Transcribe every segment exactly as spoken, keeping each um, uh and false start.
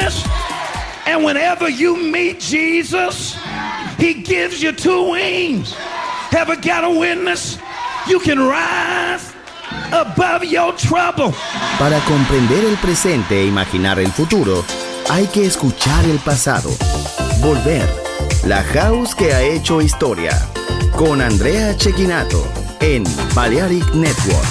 weakness. And whenever you meet Jesus, he gives you two wings. Ever got a witness? You can rise above your trouble. Para comprender el presente e imaginar el futuro, hay que escuchar el pasado. Volver. La House que ha hecho historia. Con Andrea Cecchinato en Balearic Network.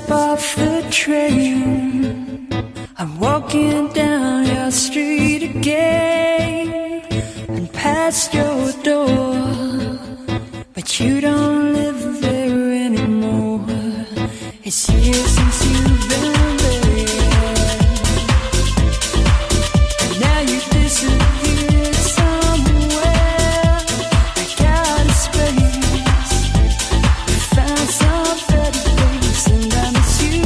step off the train, I'm walking down your street again and past your door, but you don't live there anymore. It's years since you've been there, and now you disappeared somewhere. I got a space, you found some better place, and I miss you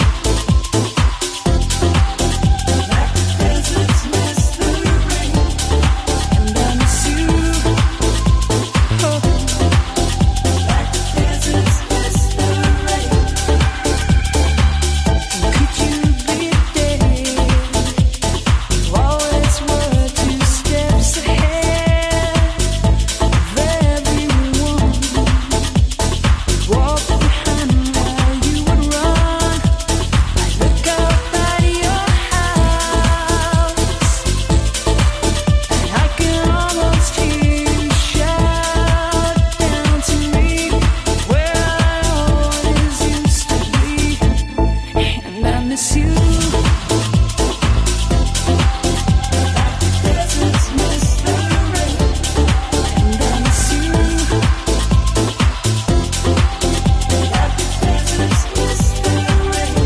like the deserts miss the rain, and I miss you, oh, like the deserts miss the rain. And could you be there? You always were two steps ahead of everyone. Walk behind while you would run. I look up at your house, and I can almost hear you shout down to me where I always used to be, and I miss you like the deserts miss the rain, and I miss you like the deserts miss the rain.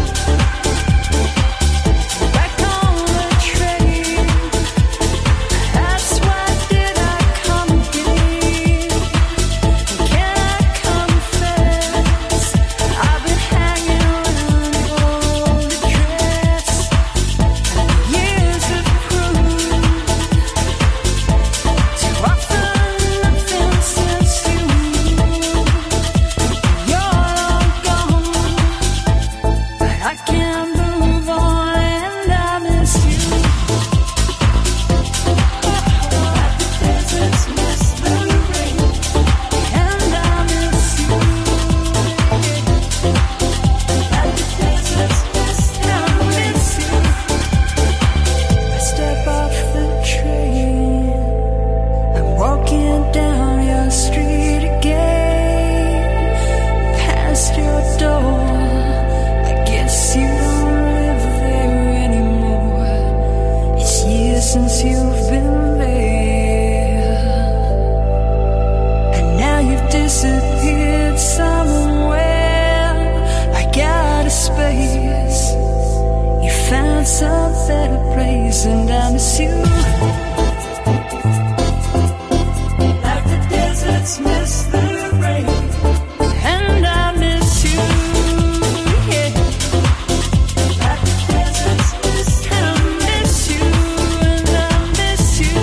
Back on the train, that's why did I come again? Can I confess, I've been hanging around your old address, and years have proved to offer nothing since you moved. You're long gone, but I can't move on, and I miss you like the deserts miss the rain, and I miss you like the deserts miss the rain. I step off the train, I'm walking down your street again, past your door. I guess you don't live there anymore. It's years since you've been there, and now you've disappeared somewhere. I got a space, you found some better place, and I miss you like the deserts miss the rain, and I miss you, yeah, like the deserts miss the rain. I miss you, and I miss you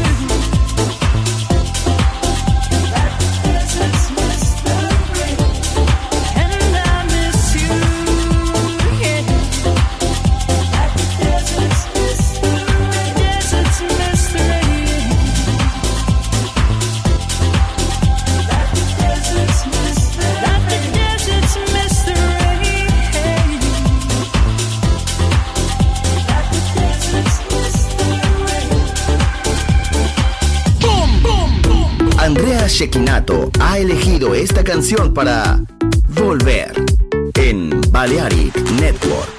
like the deserts miss the rain, and I miss you, yeah, like the deserts miss the rain. Deserts miss the rain, like the deserts miss the rain, like the deserts miss the rain, like the deserts miss the rain. Andrea Cecchinato ha elegido esta canción para Volver en Balearic Network.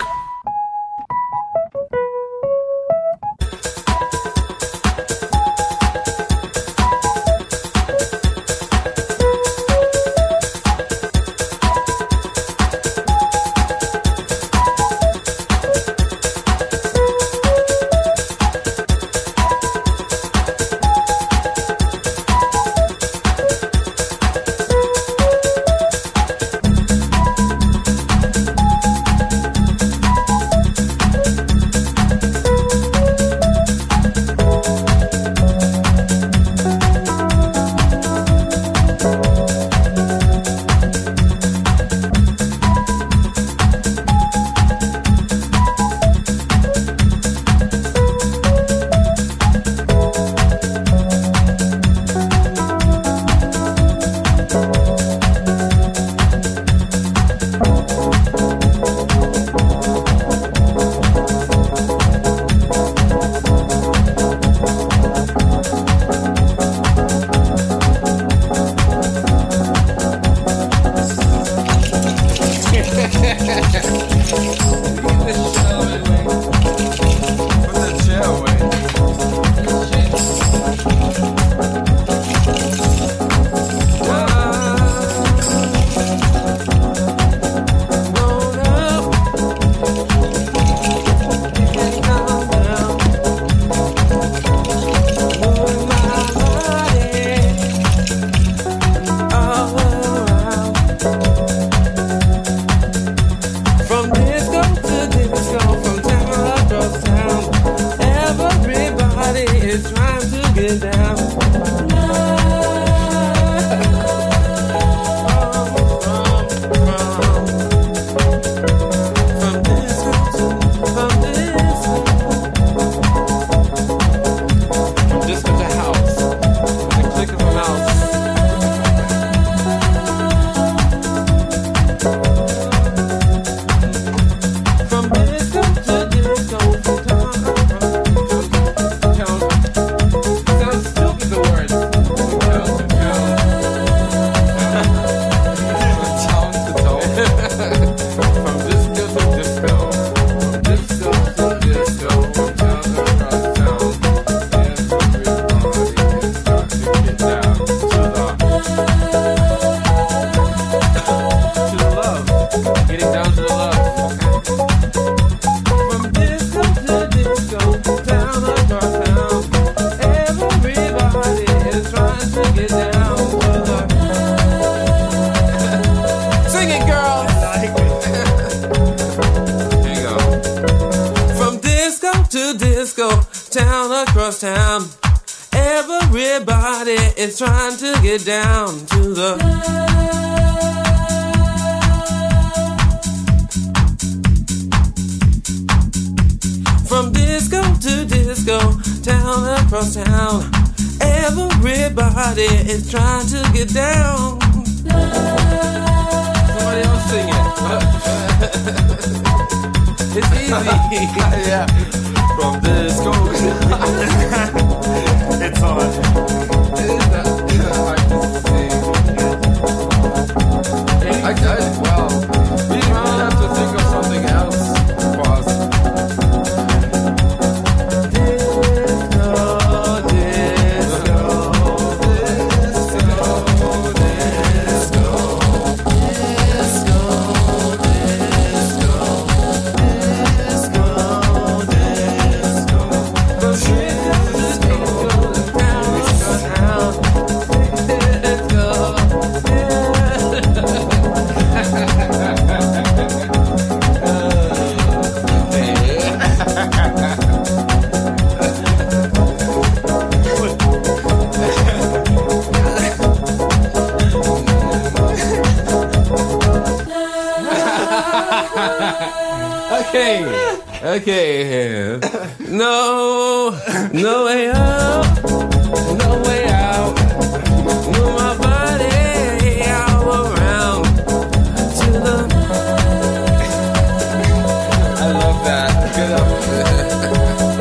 Like Is trying to get down to the from disco to disco, town across town. Everybody is trying to get down. Somebody else sing it. It's easy. Yeah. From disco. It's on. I, I, well, we might have to think of something else. Pause. Disco, disco, disco, disco, disco, disco, disco, Okay, okay. No, no way out, no way out. Move my body all around to the. I love that. Good up.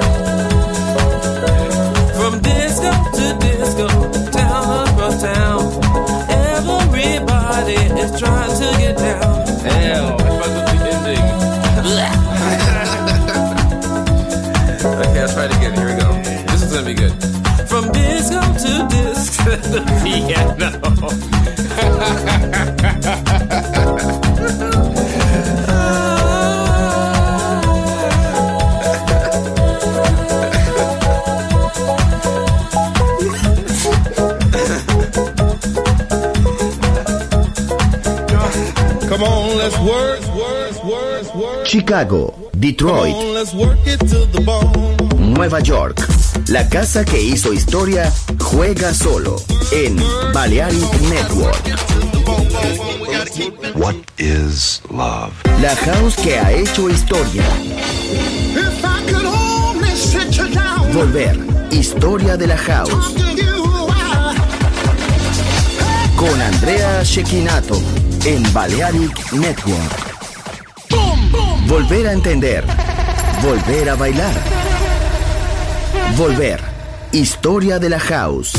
From disco to disco, town across town. Everybody is trying to get down. Hell, if I could be ending. Okay, I'll try it again. Here we go. This is gonna be good. From disco to disco to the piano. Come on, let's work, work, work, work. Chicago, Detroit, Come on, let's work it to the bone. Nueva York. La casa que hizo historia juega solo en Balearic Network. What is love? La house que ha hecho historia. If I could only sit you down, Volver. Historia de la house. talk to you, I- Con Andrea Cecchinato en Balearic Network. Volver a entender. Volver a bailar. Volver. Historia de la house.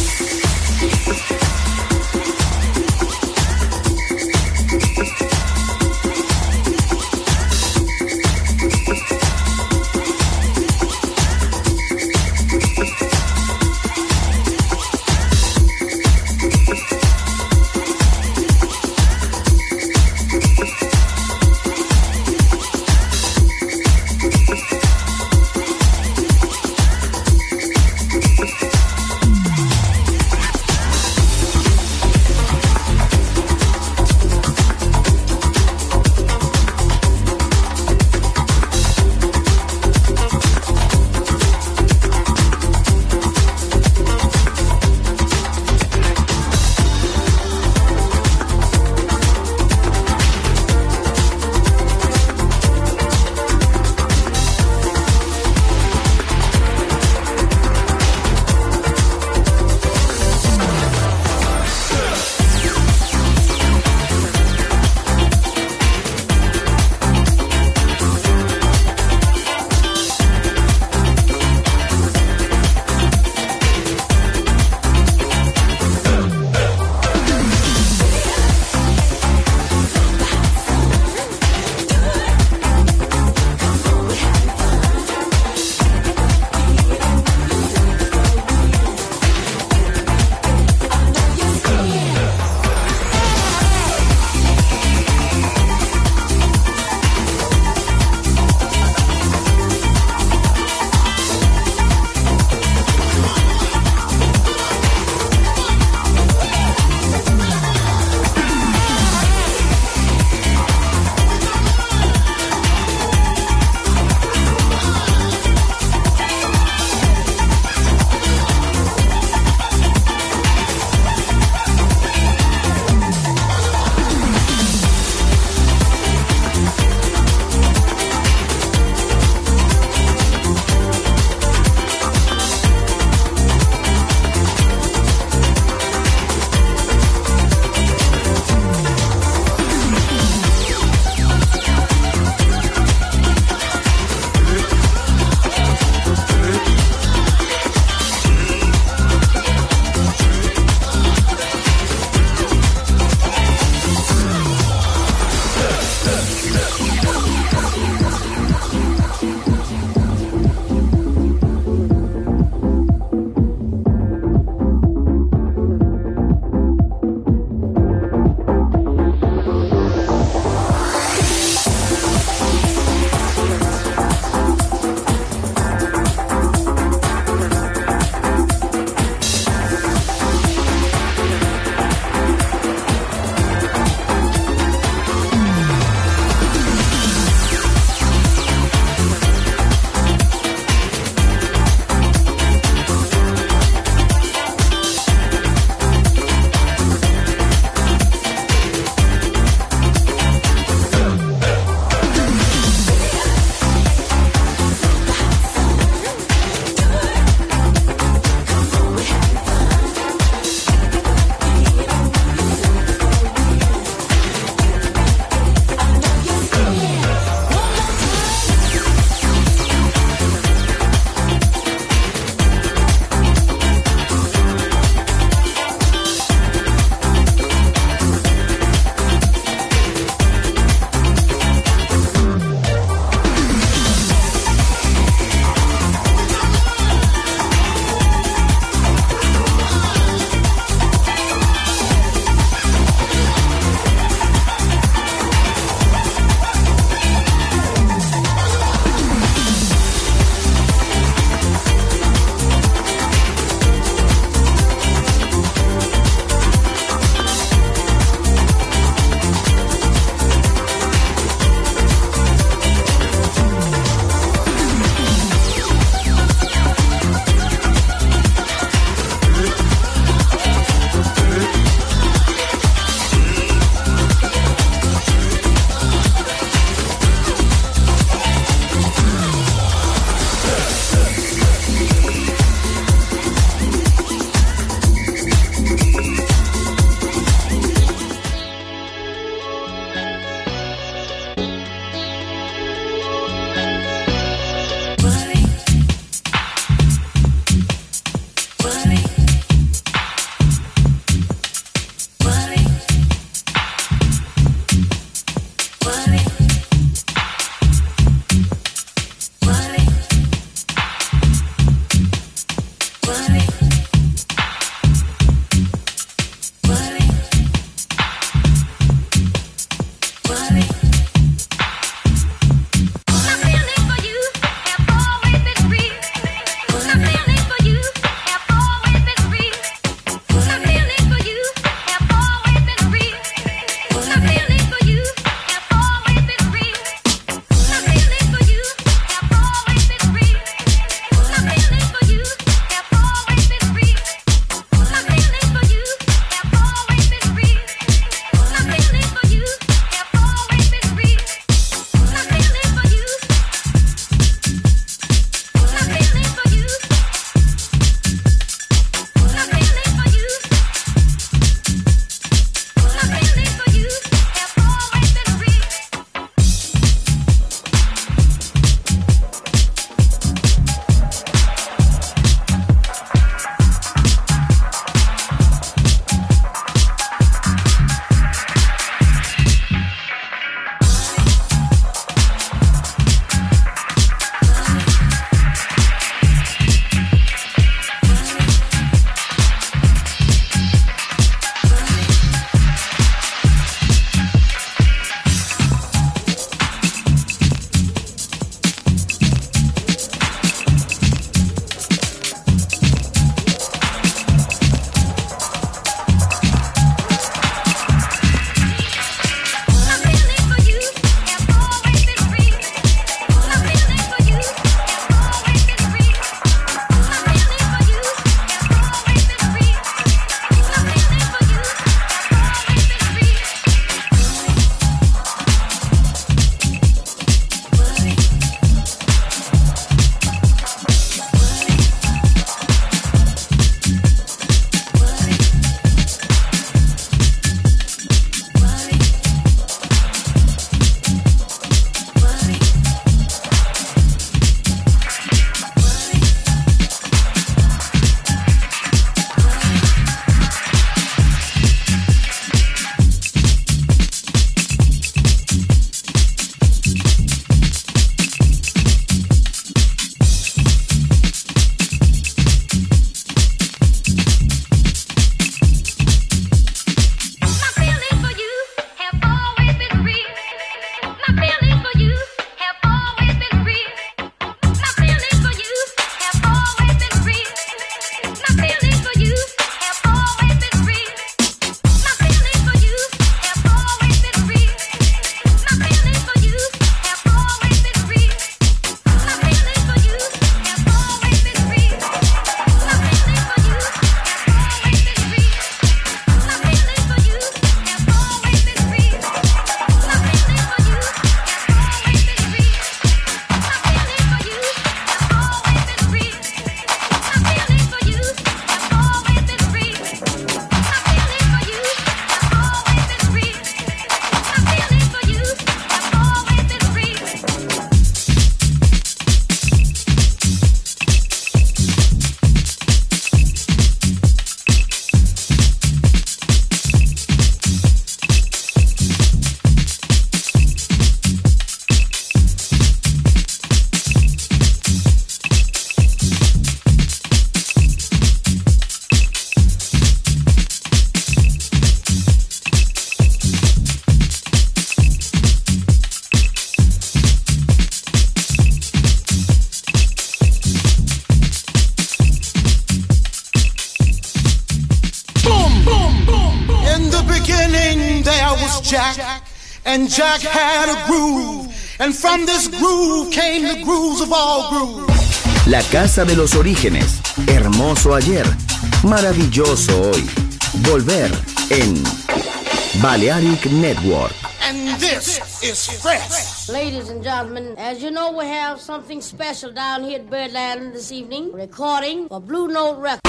beginning there was Jack, and Jack had a groove, and from this groove came the grooves of all grooves. La casa de los orígenes, hermoso ayer, maravilloso hoy. Volver en Balearic Network. And this is fresh. Ladies and gentlemen, as you know, we have something special down here at Birdland this evening, recording for Blue Note Records.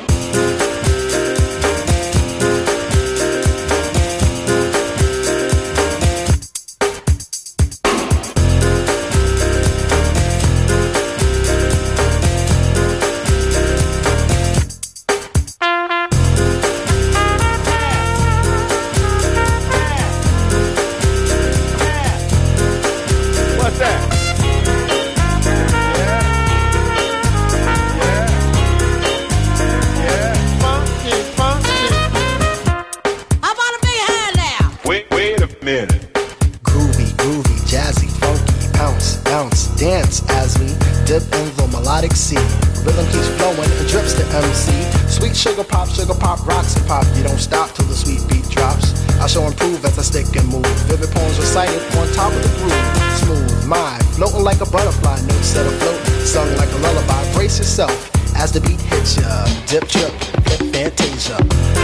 Sugar pop, sugar pop, rocks and pop. You don't stop till the sweet beat drops. I shall improve as I stick and move. Vivid poems recited on top of the groove. Smooth mind, floating like a butterfly. Notes set afloat, sung like a lullaby. Brace yourself as the beat hits ya. Dip, trip, flip, fantasia.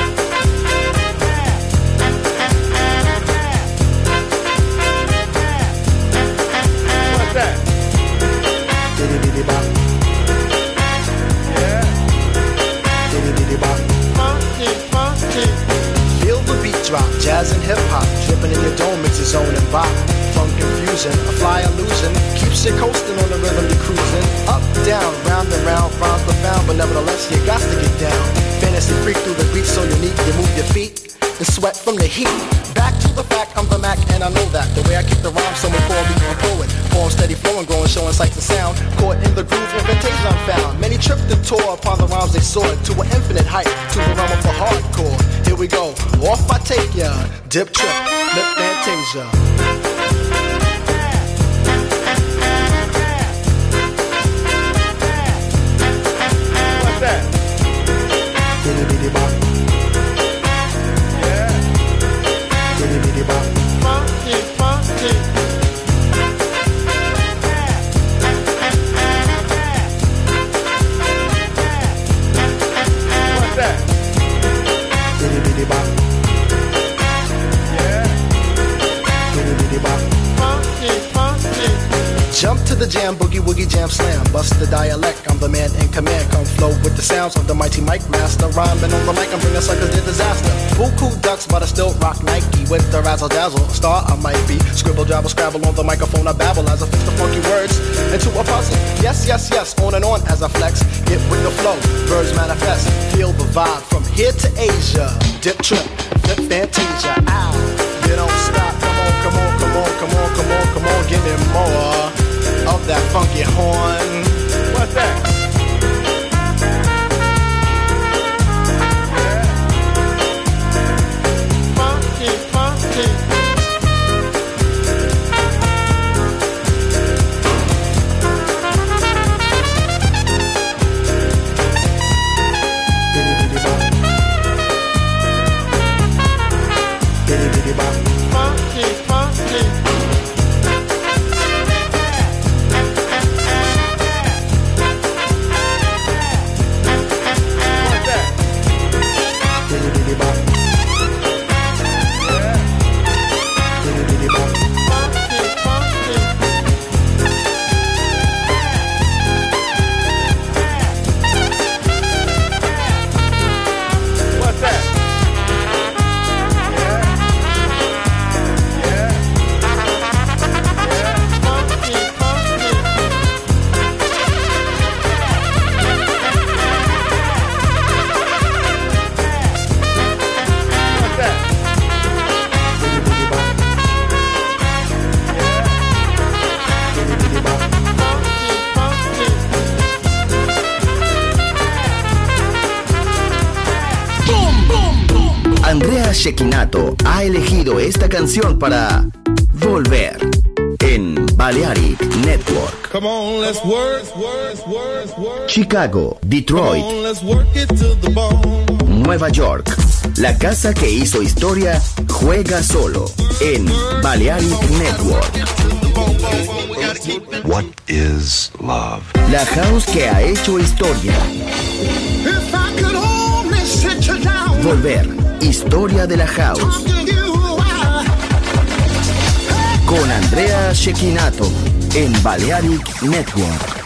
What's that? Diddy bop. Feel the beat drop, jazz and hip-hop, dripping in your dome, it's a zone and bop. Funk confusion, a fly illusion, keeps you coasting on the rhythm you're cruising. Up, down, round and round, rhymes profound, but nevertheless you got to get down. Fantasy freak through the beat so unique, you move your feet and sweat from the heat. Back to the fact, I'm the Mac and I know that. The way I keep the rhyme, someone call me a poet. Poem steady flowing, growing, showing sights and sound. Caught in the groove, invitation I'm found. Many tripped and tore upon the rhymes they soared to an infinite height, to the realm of the hardcore. Here we go, off I take ya. Dip, trip, flip, fantasia. What's that? Diddy diddy bop. Diddy diddy bop. Funky, funky. What's that? Diddy diddy bop. Yeah. Diddy diddy bop. Funky, funky. Jump to the jam, boogie woogie jam slam. Bust the dialect, I'm the man in command. Come flow with the sounds of the mighty mic master. Rhyming on the mic, I'm bringing suckers to disaster. Buku ducks, but I still rock Nike with the razzle dazzle. A star I might be. Scribble, jabble, scrabble on the microphone. I babble as I fix the funky words into a puzzle. Yes, yes, yes, on and on as I flex. Get with the flow, birds manifest. Feel the vibe from here to Asia. Dip, trip, flip, fantasia. Ow, you don't stop. Come on, come on, come on, come on, come on, come on. Give me more of that funky horn. What's that? Funky, funky. Diddy diddy bop. Diddy diddy bop. Funky, funky. Andrea Cecchinato ha elegido esta canción para Volver en Balearic Network. Come on, let's work, work, work, work. Chicago, Detroit, Come on, let's work it to the bone. Nueva York, La casa que hizo historia juega solo en Balearic Network. What is love? La house que ha hecho historia. If I could only sit you down, Volver, historia de la house. talk to you a while. Con Andrea Cecchinato en Balearic Network.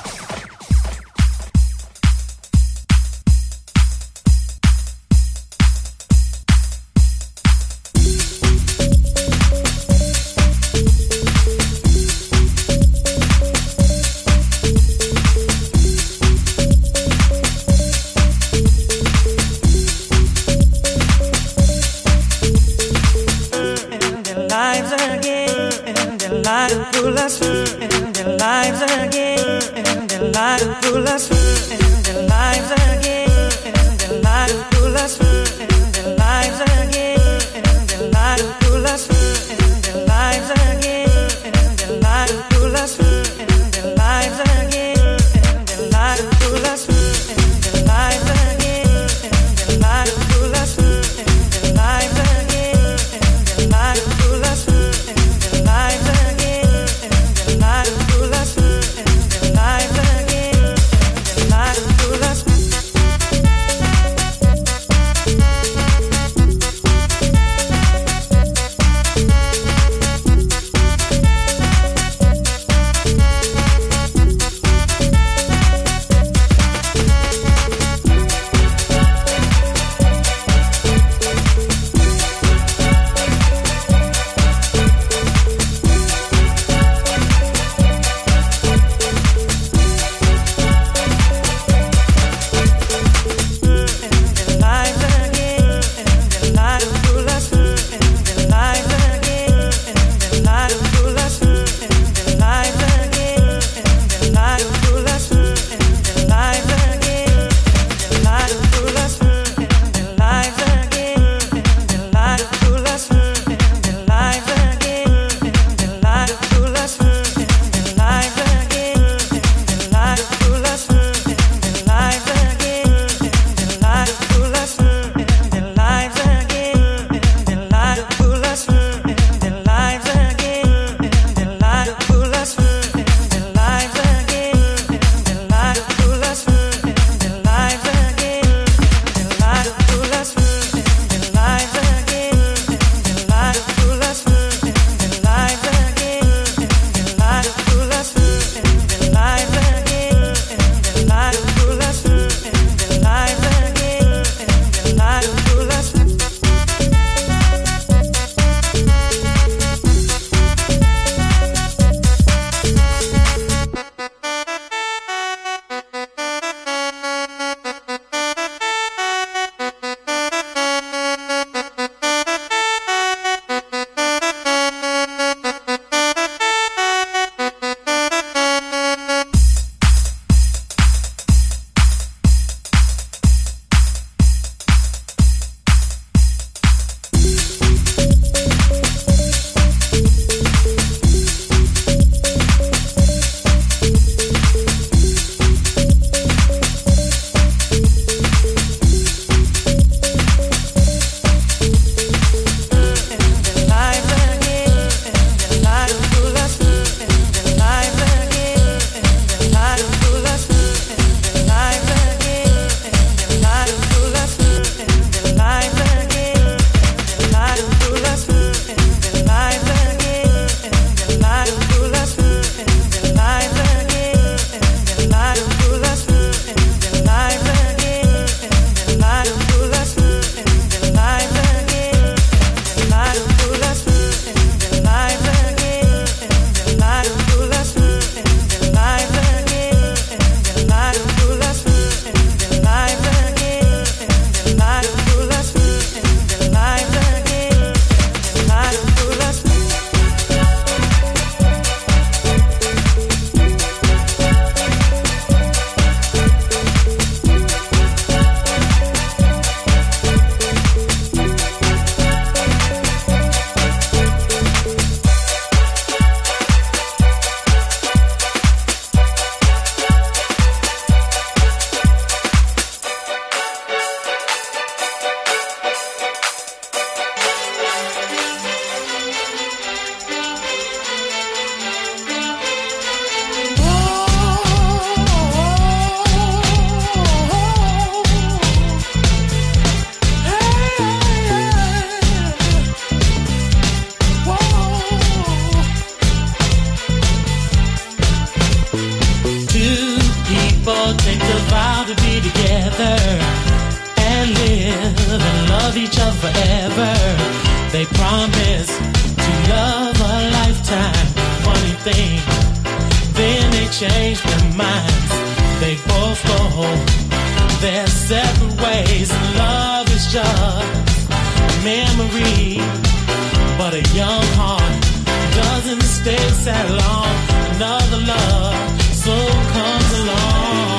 love each other forever. They promise to love a lifetime. Funny thing, then they change their minds. They both go their separate ways. And love is just a memory, but a young heart doesn't stay sad long. Another love soon comes along.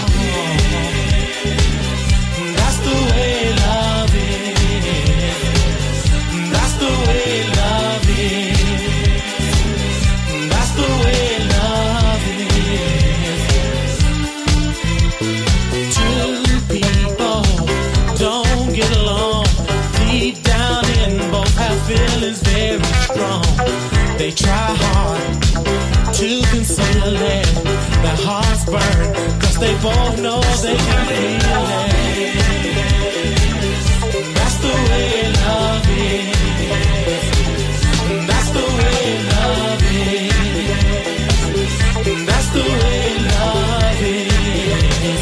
That's the way love is. That's the way love is. That's the way love is. Two people don't get along. Deep down in both have feelings very strong. They try hard to conceal it. Their hearts burn, cause they both know they can feel it. That's the way love is. That's the way love is. That's the way love is.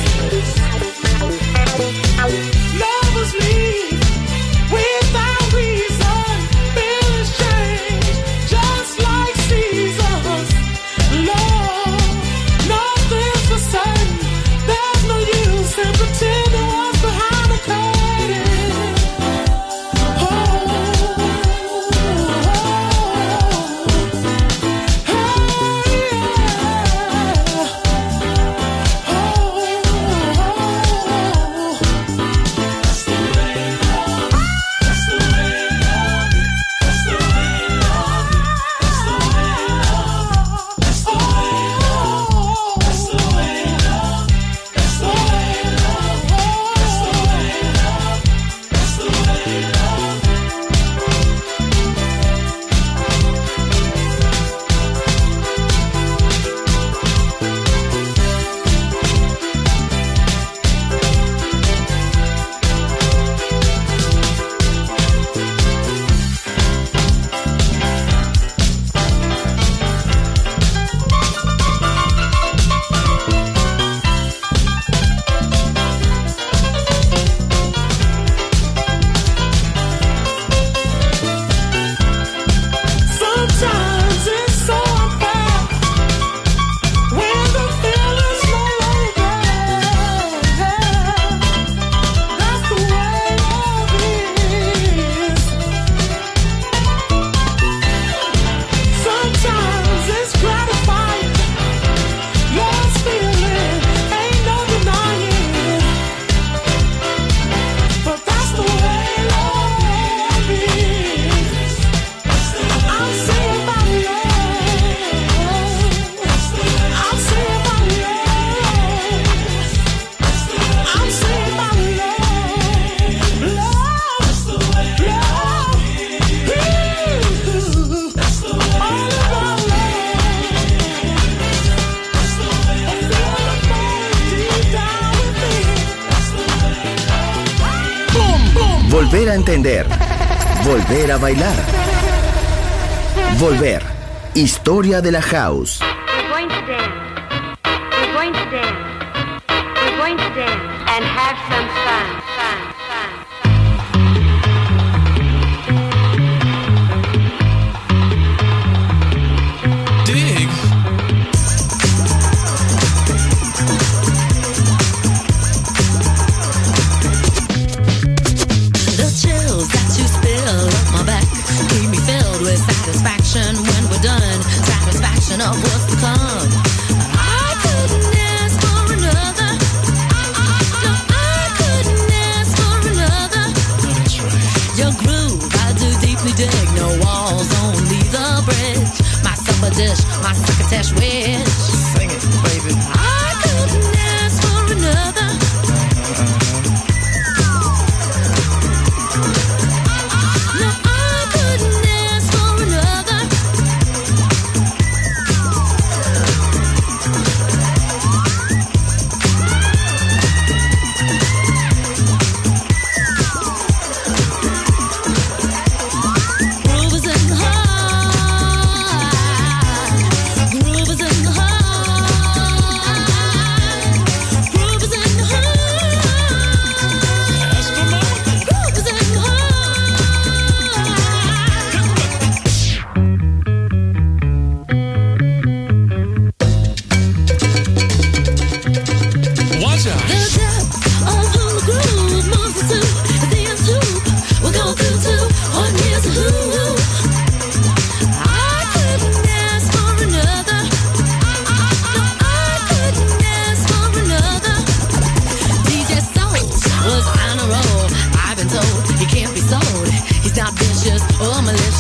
Lovers leave without reason. Feelings change just like seasons. Love, nothing's for certain. There's no use in pretending what's behind the curtain. Oh, sometimes it's so unfair when the feeling's no longer there. That's the way love is. Sometimes it's gratifying. Love's feeling ain't no denying. But that's the way love is. I'm saying my love. I'm saying my love. I'm saying my love. Love, love, ooh, all about love. I feel the pain deep down within. Boom, boom. Volver a entender. Volver a bailar. Volver. Historia de la house. We're going to dance. We're going to dance. We're going to dance and have some fun. Fun, fun, Dig. The chills that you spill up my back keep me filled with satisfaction when we're done. Satisfaction of what's to come. I couldn't ask for another. No, I couldn't ask for another. Your groove, I do deeply dig. No walls, only the bridge. My supper dish, my succotash wish. Sing it, baby. I couldn't ask for another. No, I couldn't ask for another. Groove is in the heart. Groove is in the heart.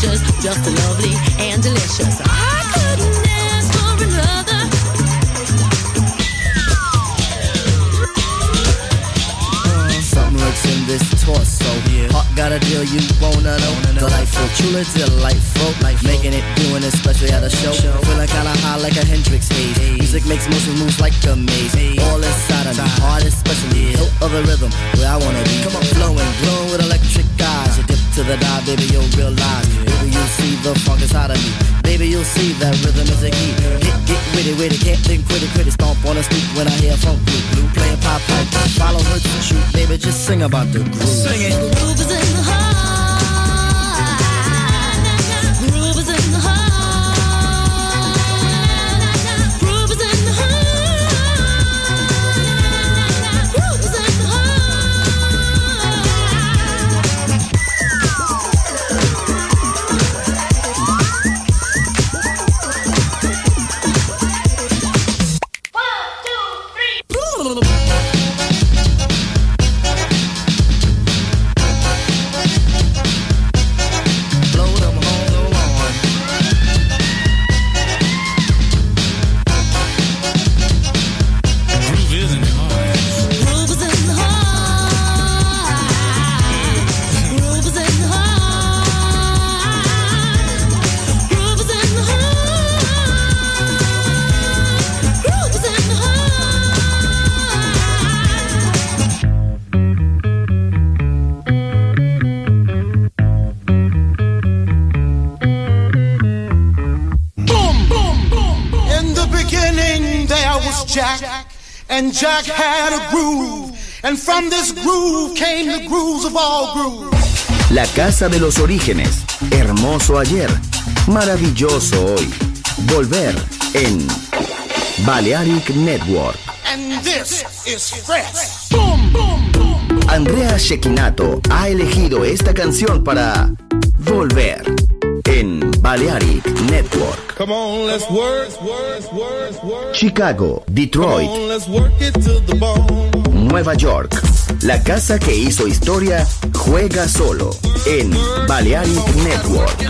precious, just lovely and delicious. I couldn't ask for another. Uh, something lurks in this torso. Yeah. Heart got a deal you wanna know. Delightful, truly delightful. Life making it, doing it, especially at a show. Feeling kinda high like a Hendrix haze. Music makes motion moves like a maze. All inside of me, heart especially. Hilt of the rhythm, where I wanna be. Come on, flowing, glowing with electric eyes. You dip to the dive, baby, you'll realize. Baby, you'll see the funk inside of me. Baby, you'll see that rhythm is a key. Get, get witty, witty, can't think, quitty, quitty. Stomp on the street when I hear funk blue, blue. Playing pop pipe, follow her to shoot. Baby, just sing about the groove. Sing it. The groove is in the heart. Groove is in the heart. Groove is in the heart. Groove is in the Jack, and Jack had a groove, and from this groove came the grooves of all grooves. La casa de los orígenes, hermoso ayer, maravilloso hoy. Volver en Balearic Network. And this is fresh. Boom, boom, boom. Andrea Cecchinato ha elegido esta canción para Volver en Balearic Network. Come on, let's work, work, work, work. Chicago, Detroit, Come on, let's work it to the bone. Nueva York. La casa que hizo historia juega solo en Balearic Network.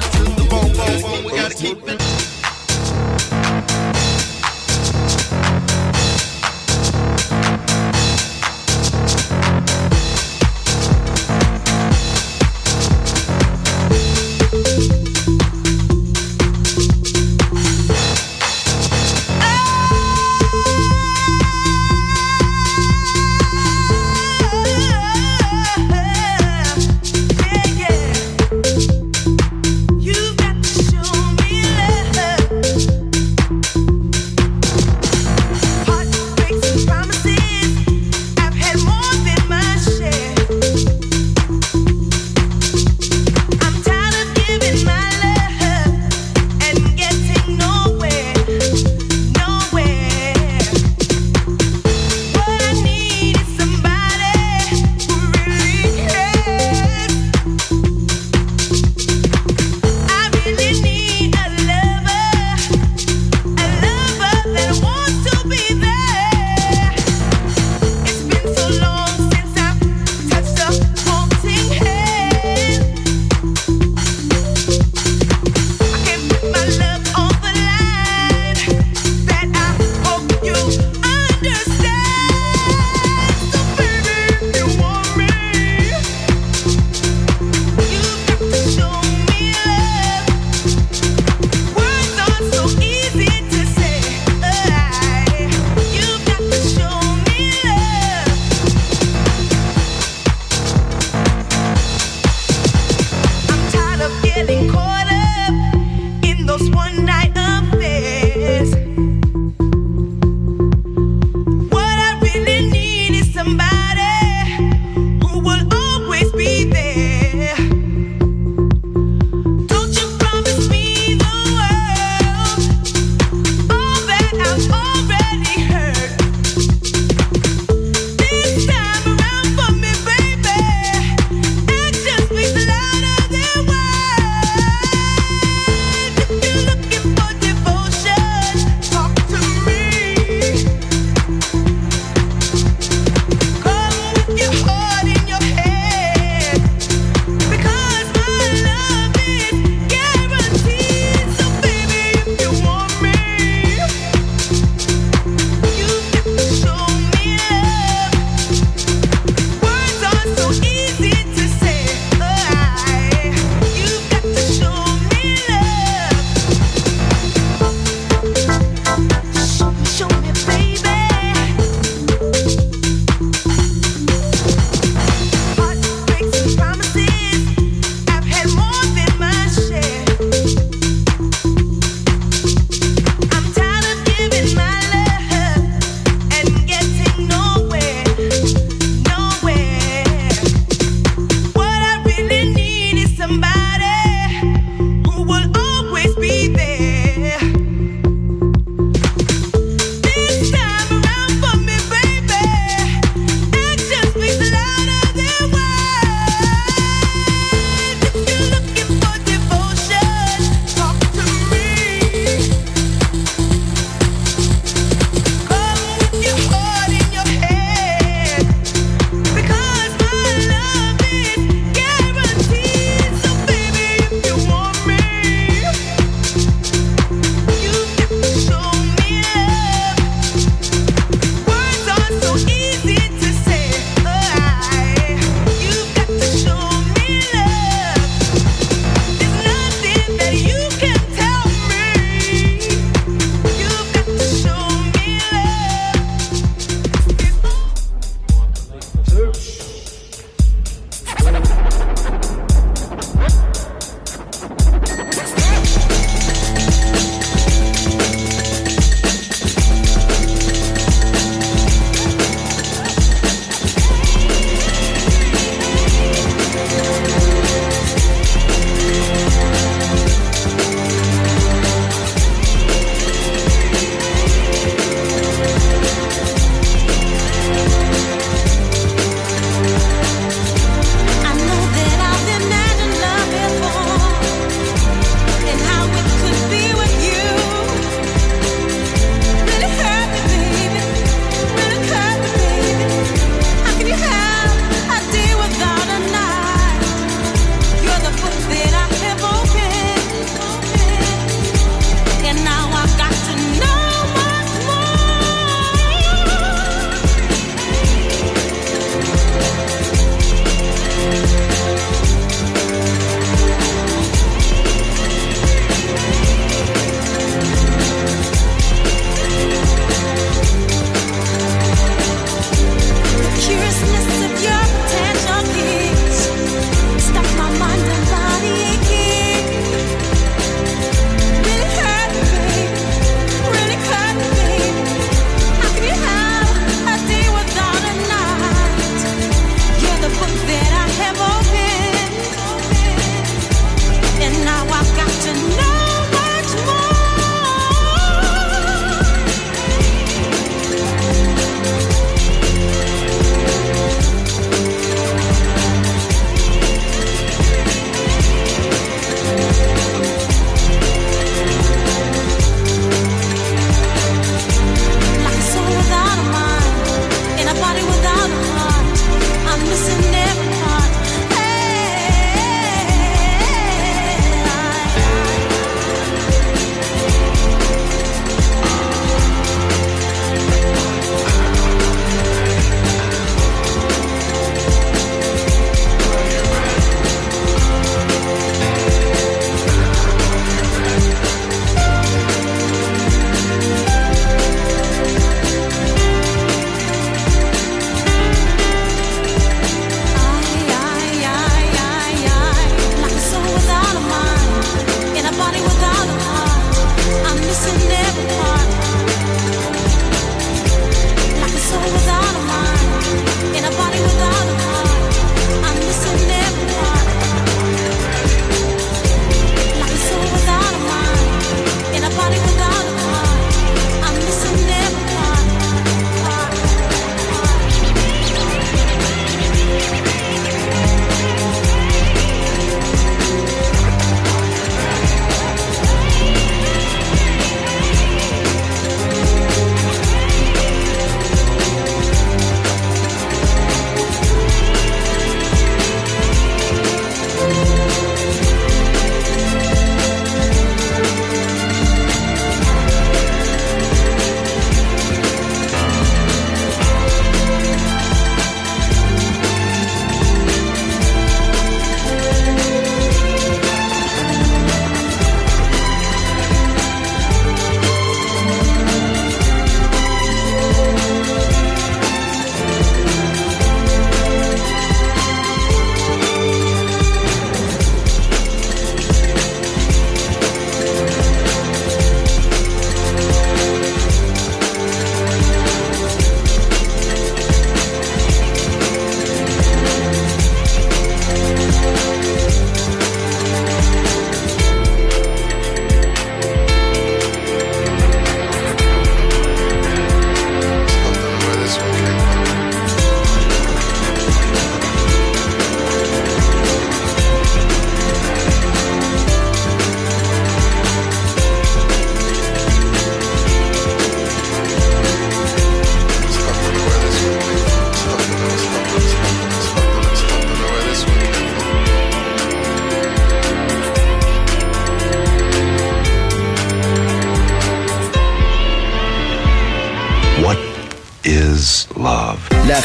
You've got to show me love.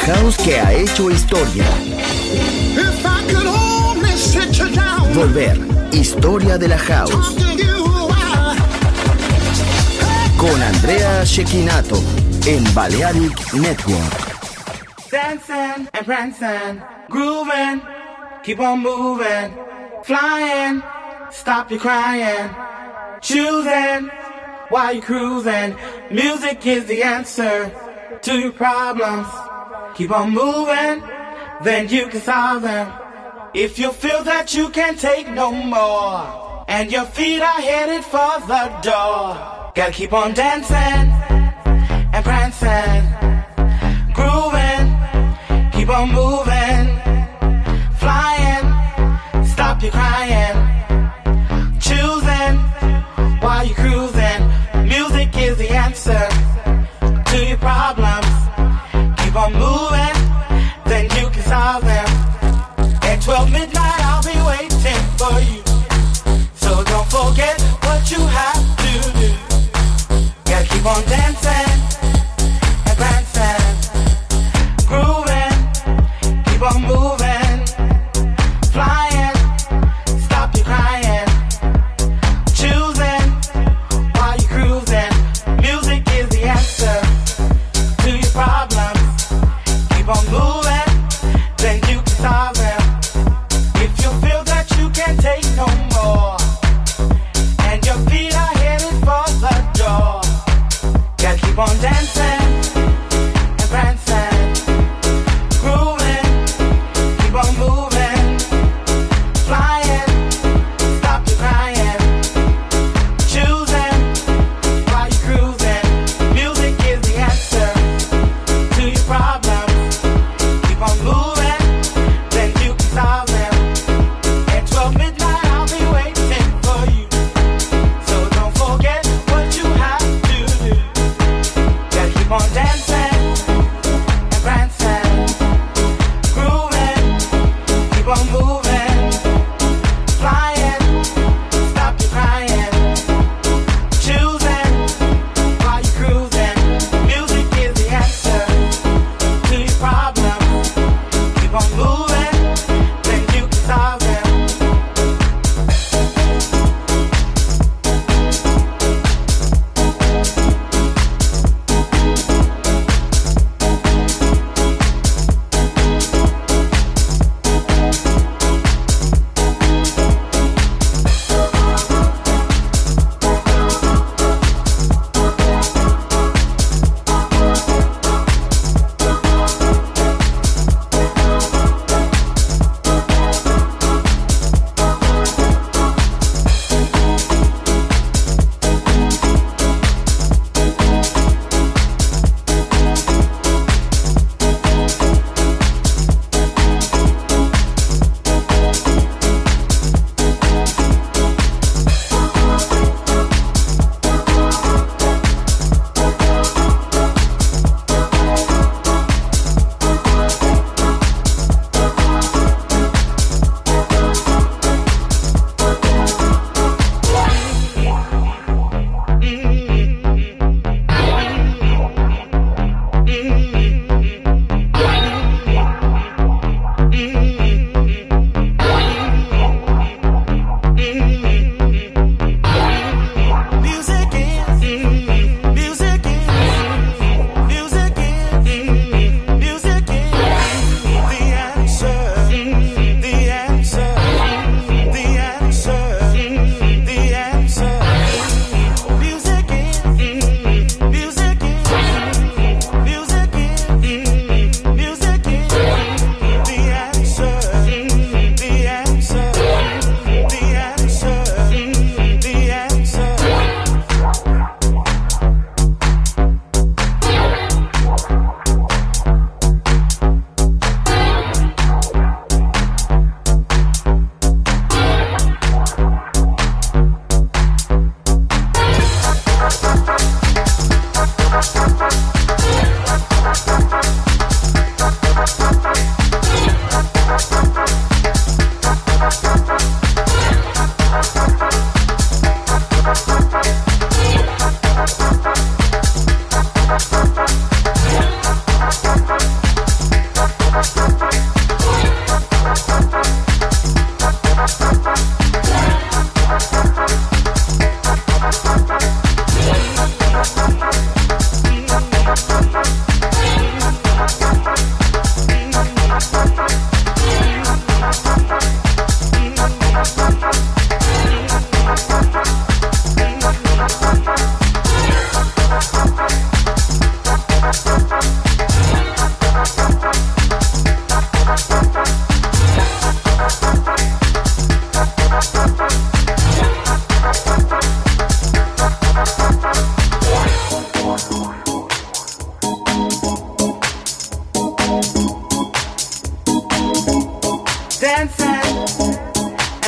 house que ha hecho historia. If I could only sit you down, Volver, historia de la house. talk to you, I- Con Andrea Cecchinato en Balearic Network. Dancing and prancing, grooving, keep on moving, flying, stop your crying, choosing while you're cruising. Music is the answer to your problems. Keep on moving, then you can solve them. If you feel that you can't take no more, and your feet are headed for the door, gotta keep on dancing and prancing, grooving, keep on moving, flying, stop your crying, choosing while you're cruising. Music is the answer to your problems. Keep on moving, then you can solve them. At twelve midnight I'll be waiting for you, so don't forget what you have to do. Gotta keep on dancing and prancing, grooving, keep on moving, flying, stop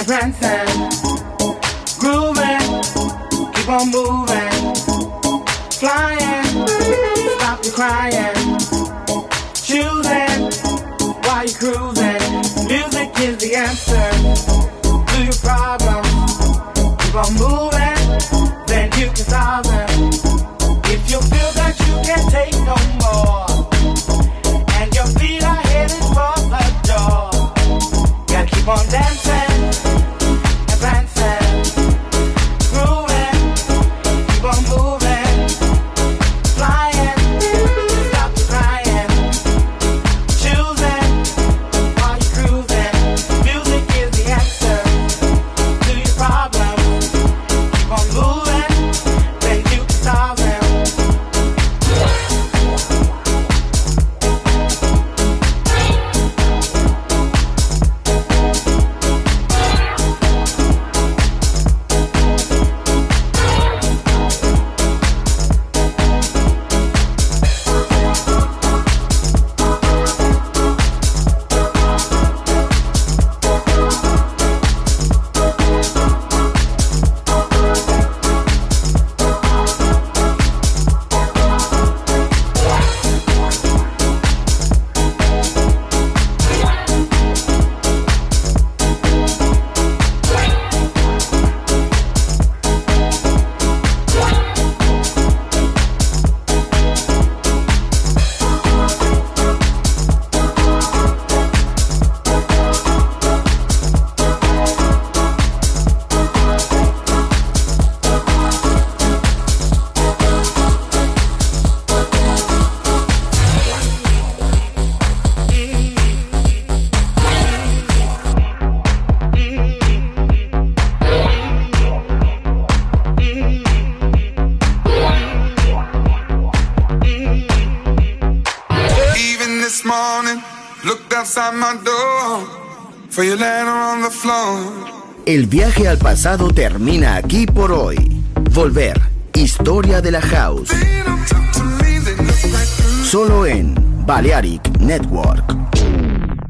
prancing, grooving, keep on moving, flying, stop your crying, choosing while you're cruising. Music is the answer to your problems. Keep on moving, then you can solve them. If you feel that you can't take no more, and your feet are headed for the door, gotta keep on dancing and prancing, grooving, keep on moving, flying, stop the crying, choosing while you're cruising. Music is the answer to your problems. Keep on moving, then you can solve them. Even this morning, looked outside my door for your letter on the floor. El viaje al pasado termina aquí por hoy. Volver, historia de la house. Solo en Balearic Network.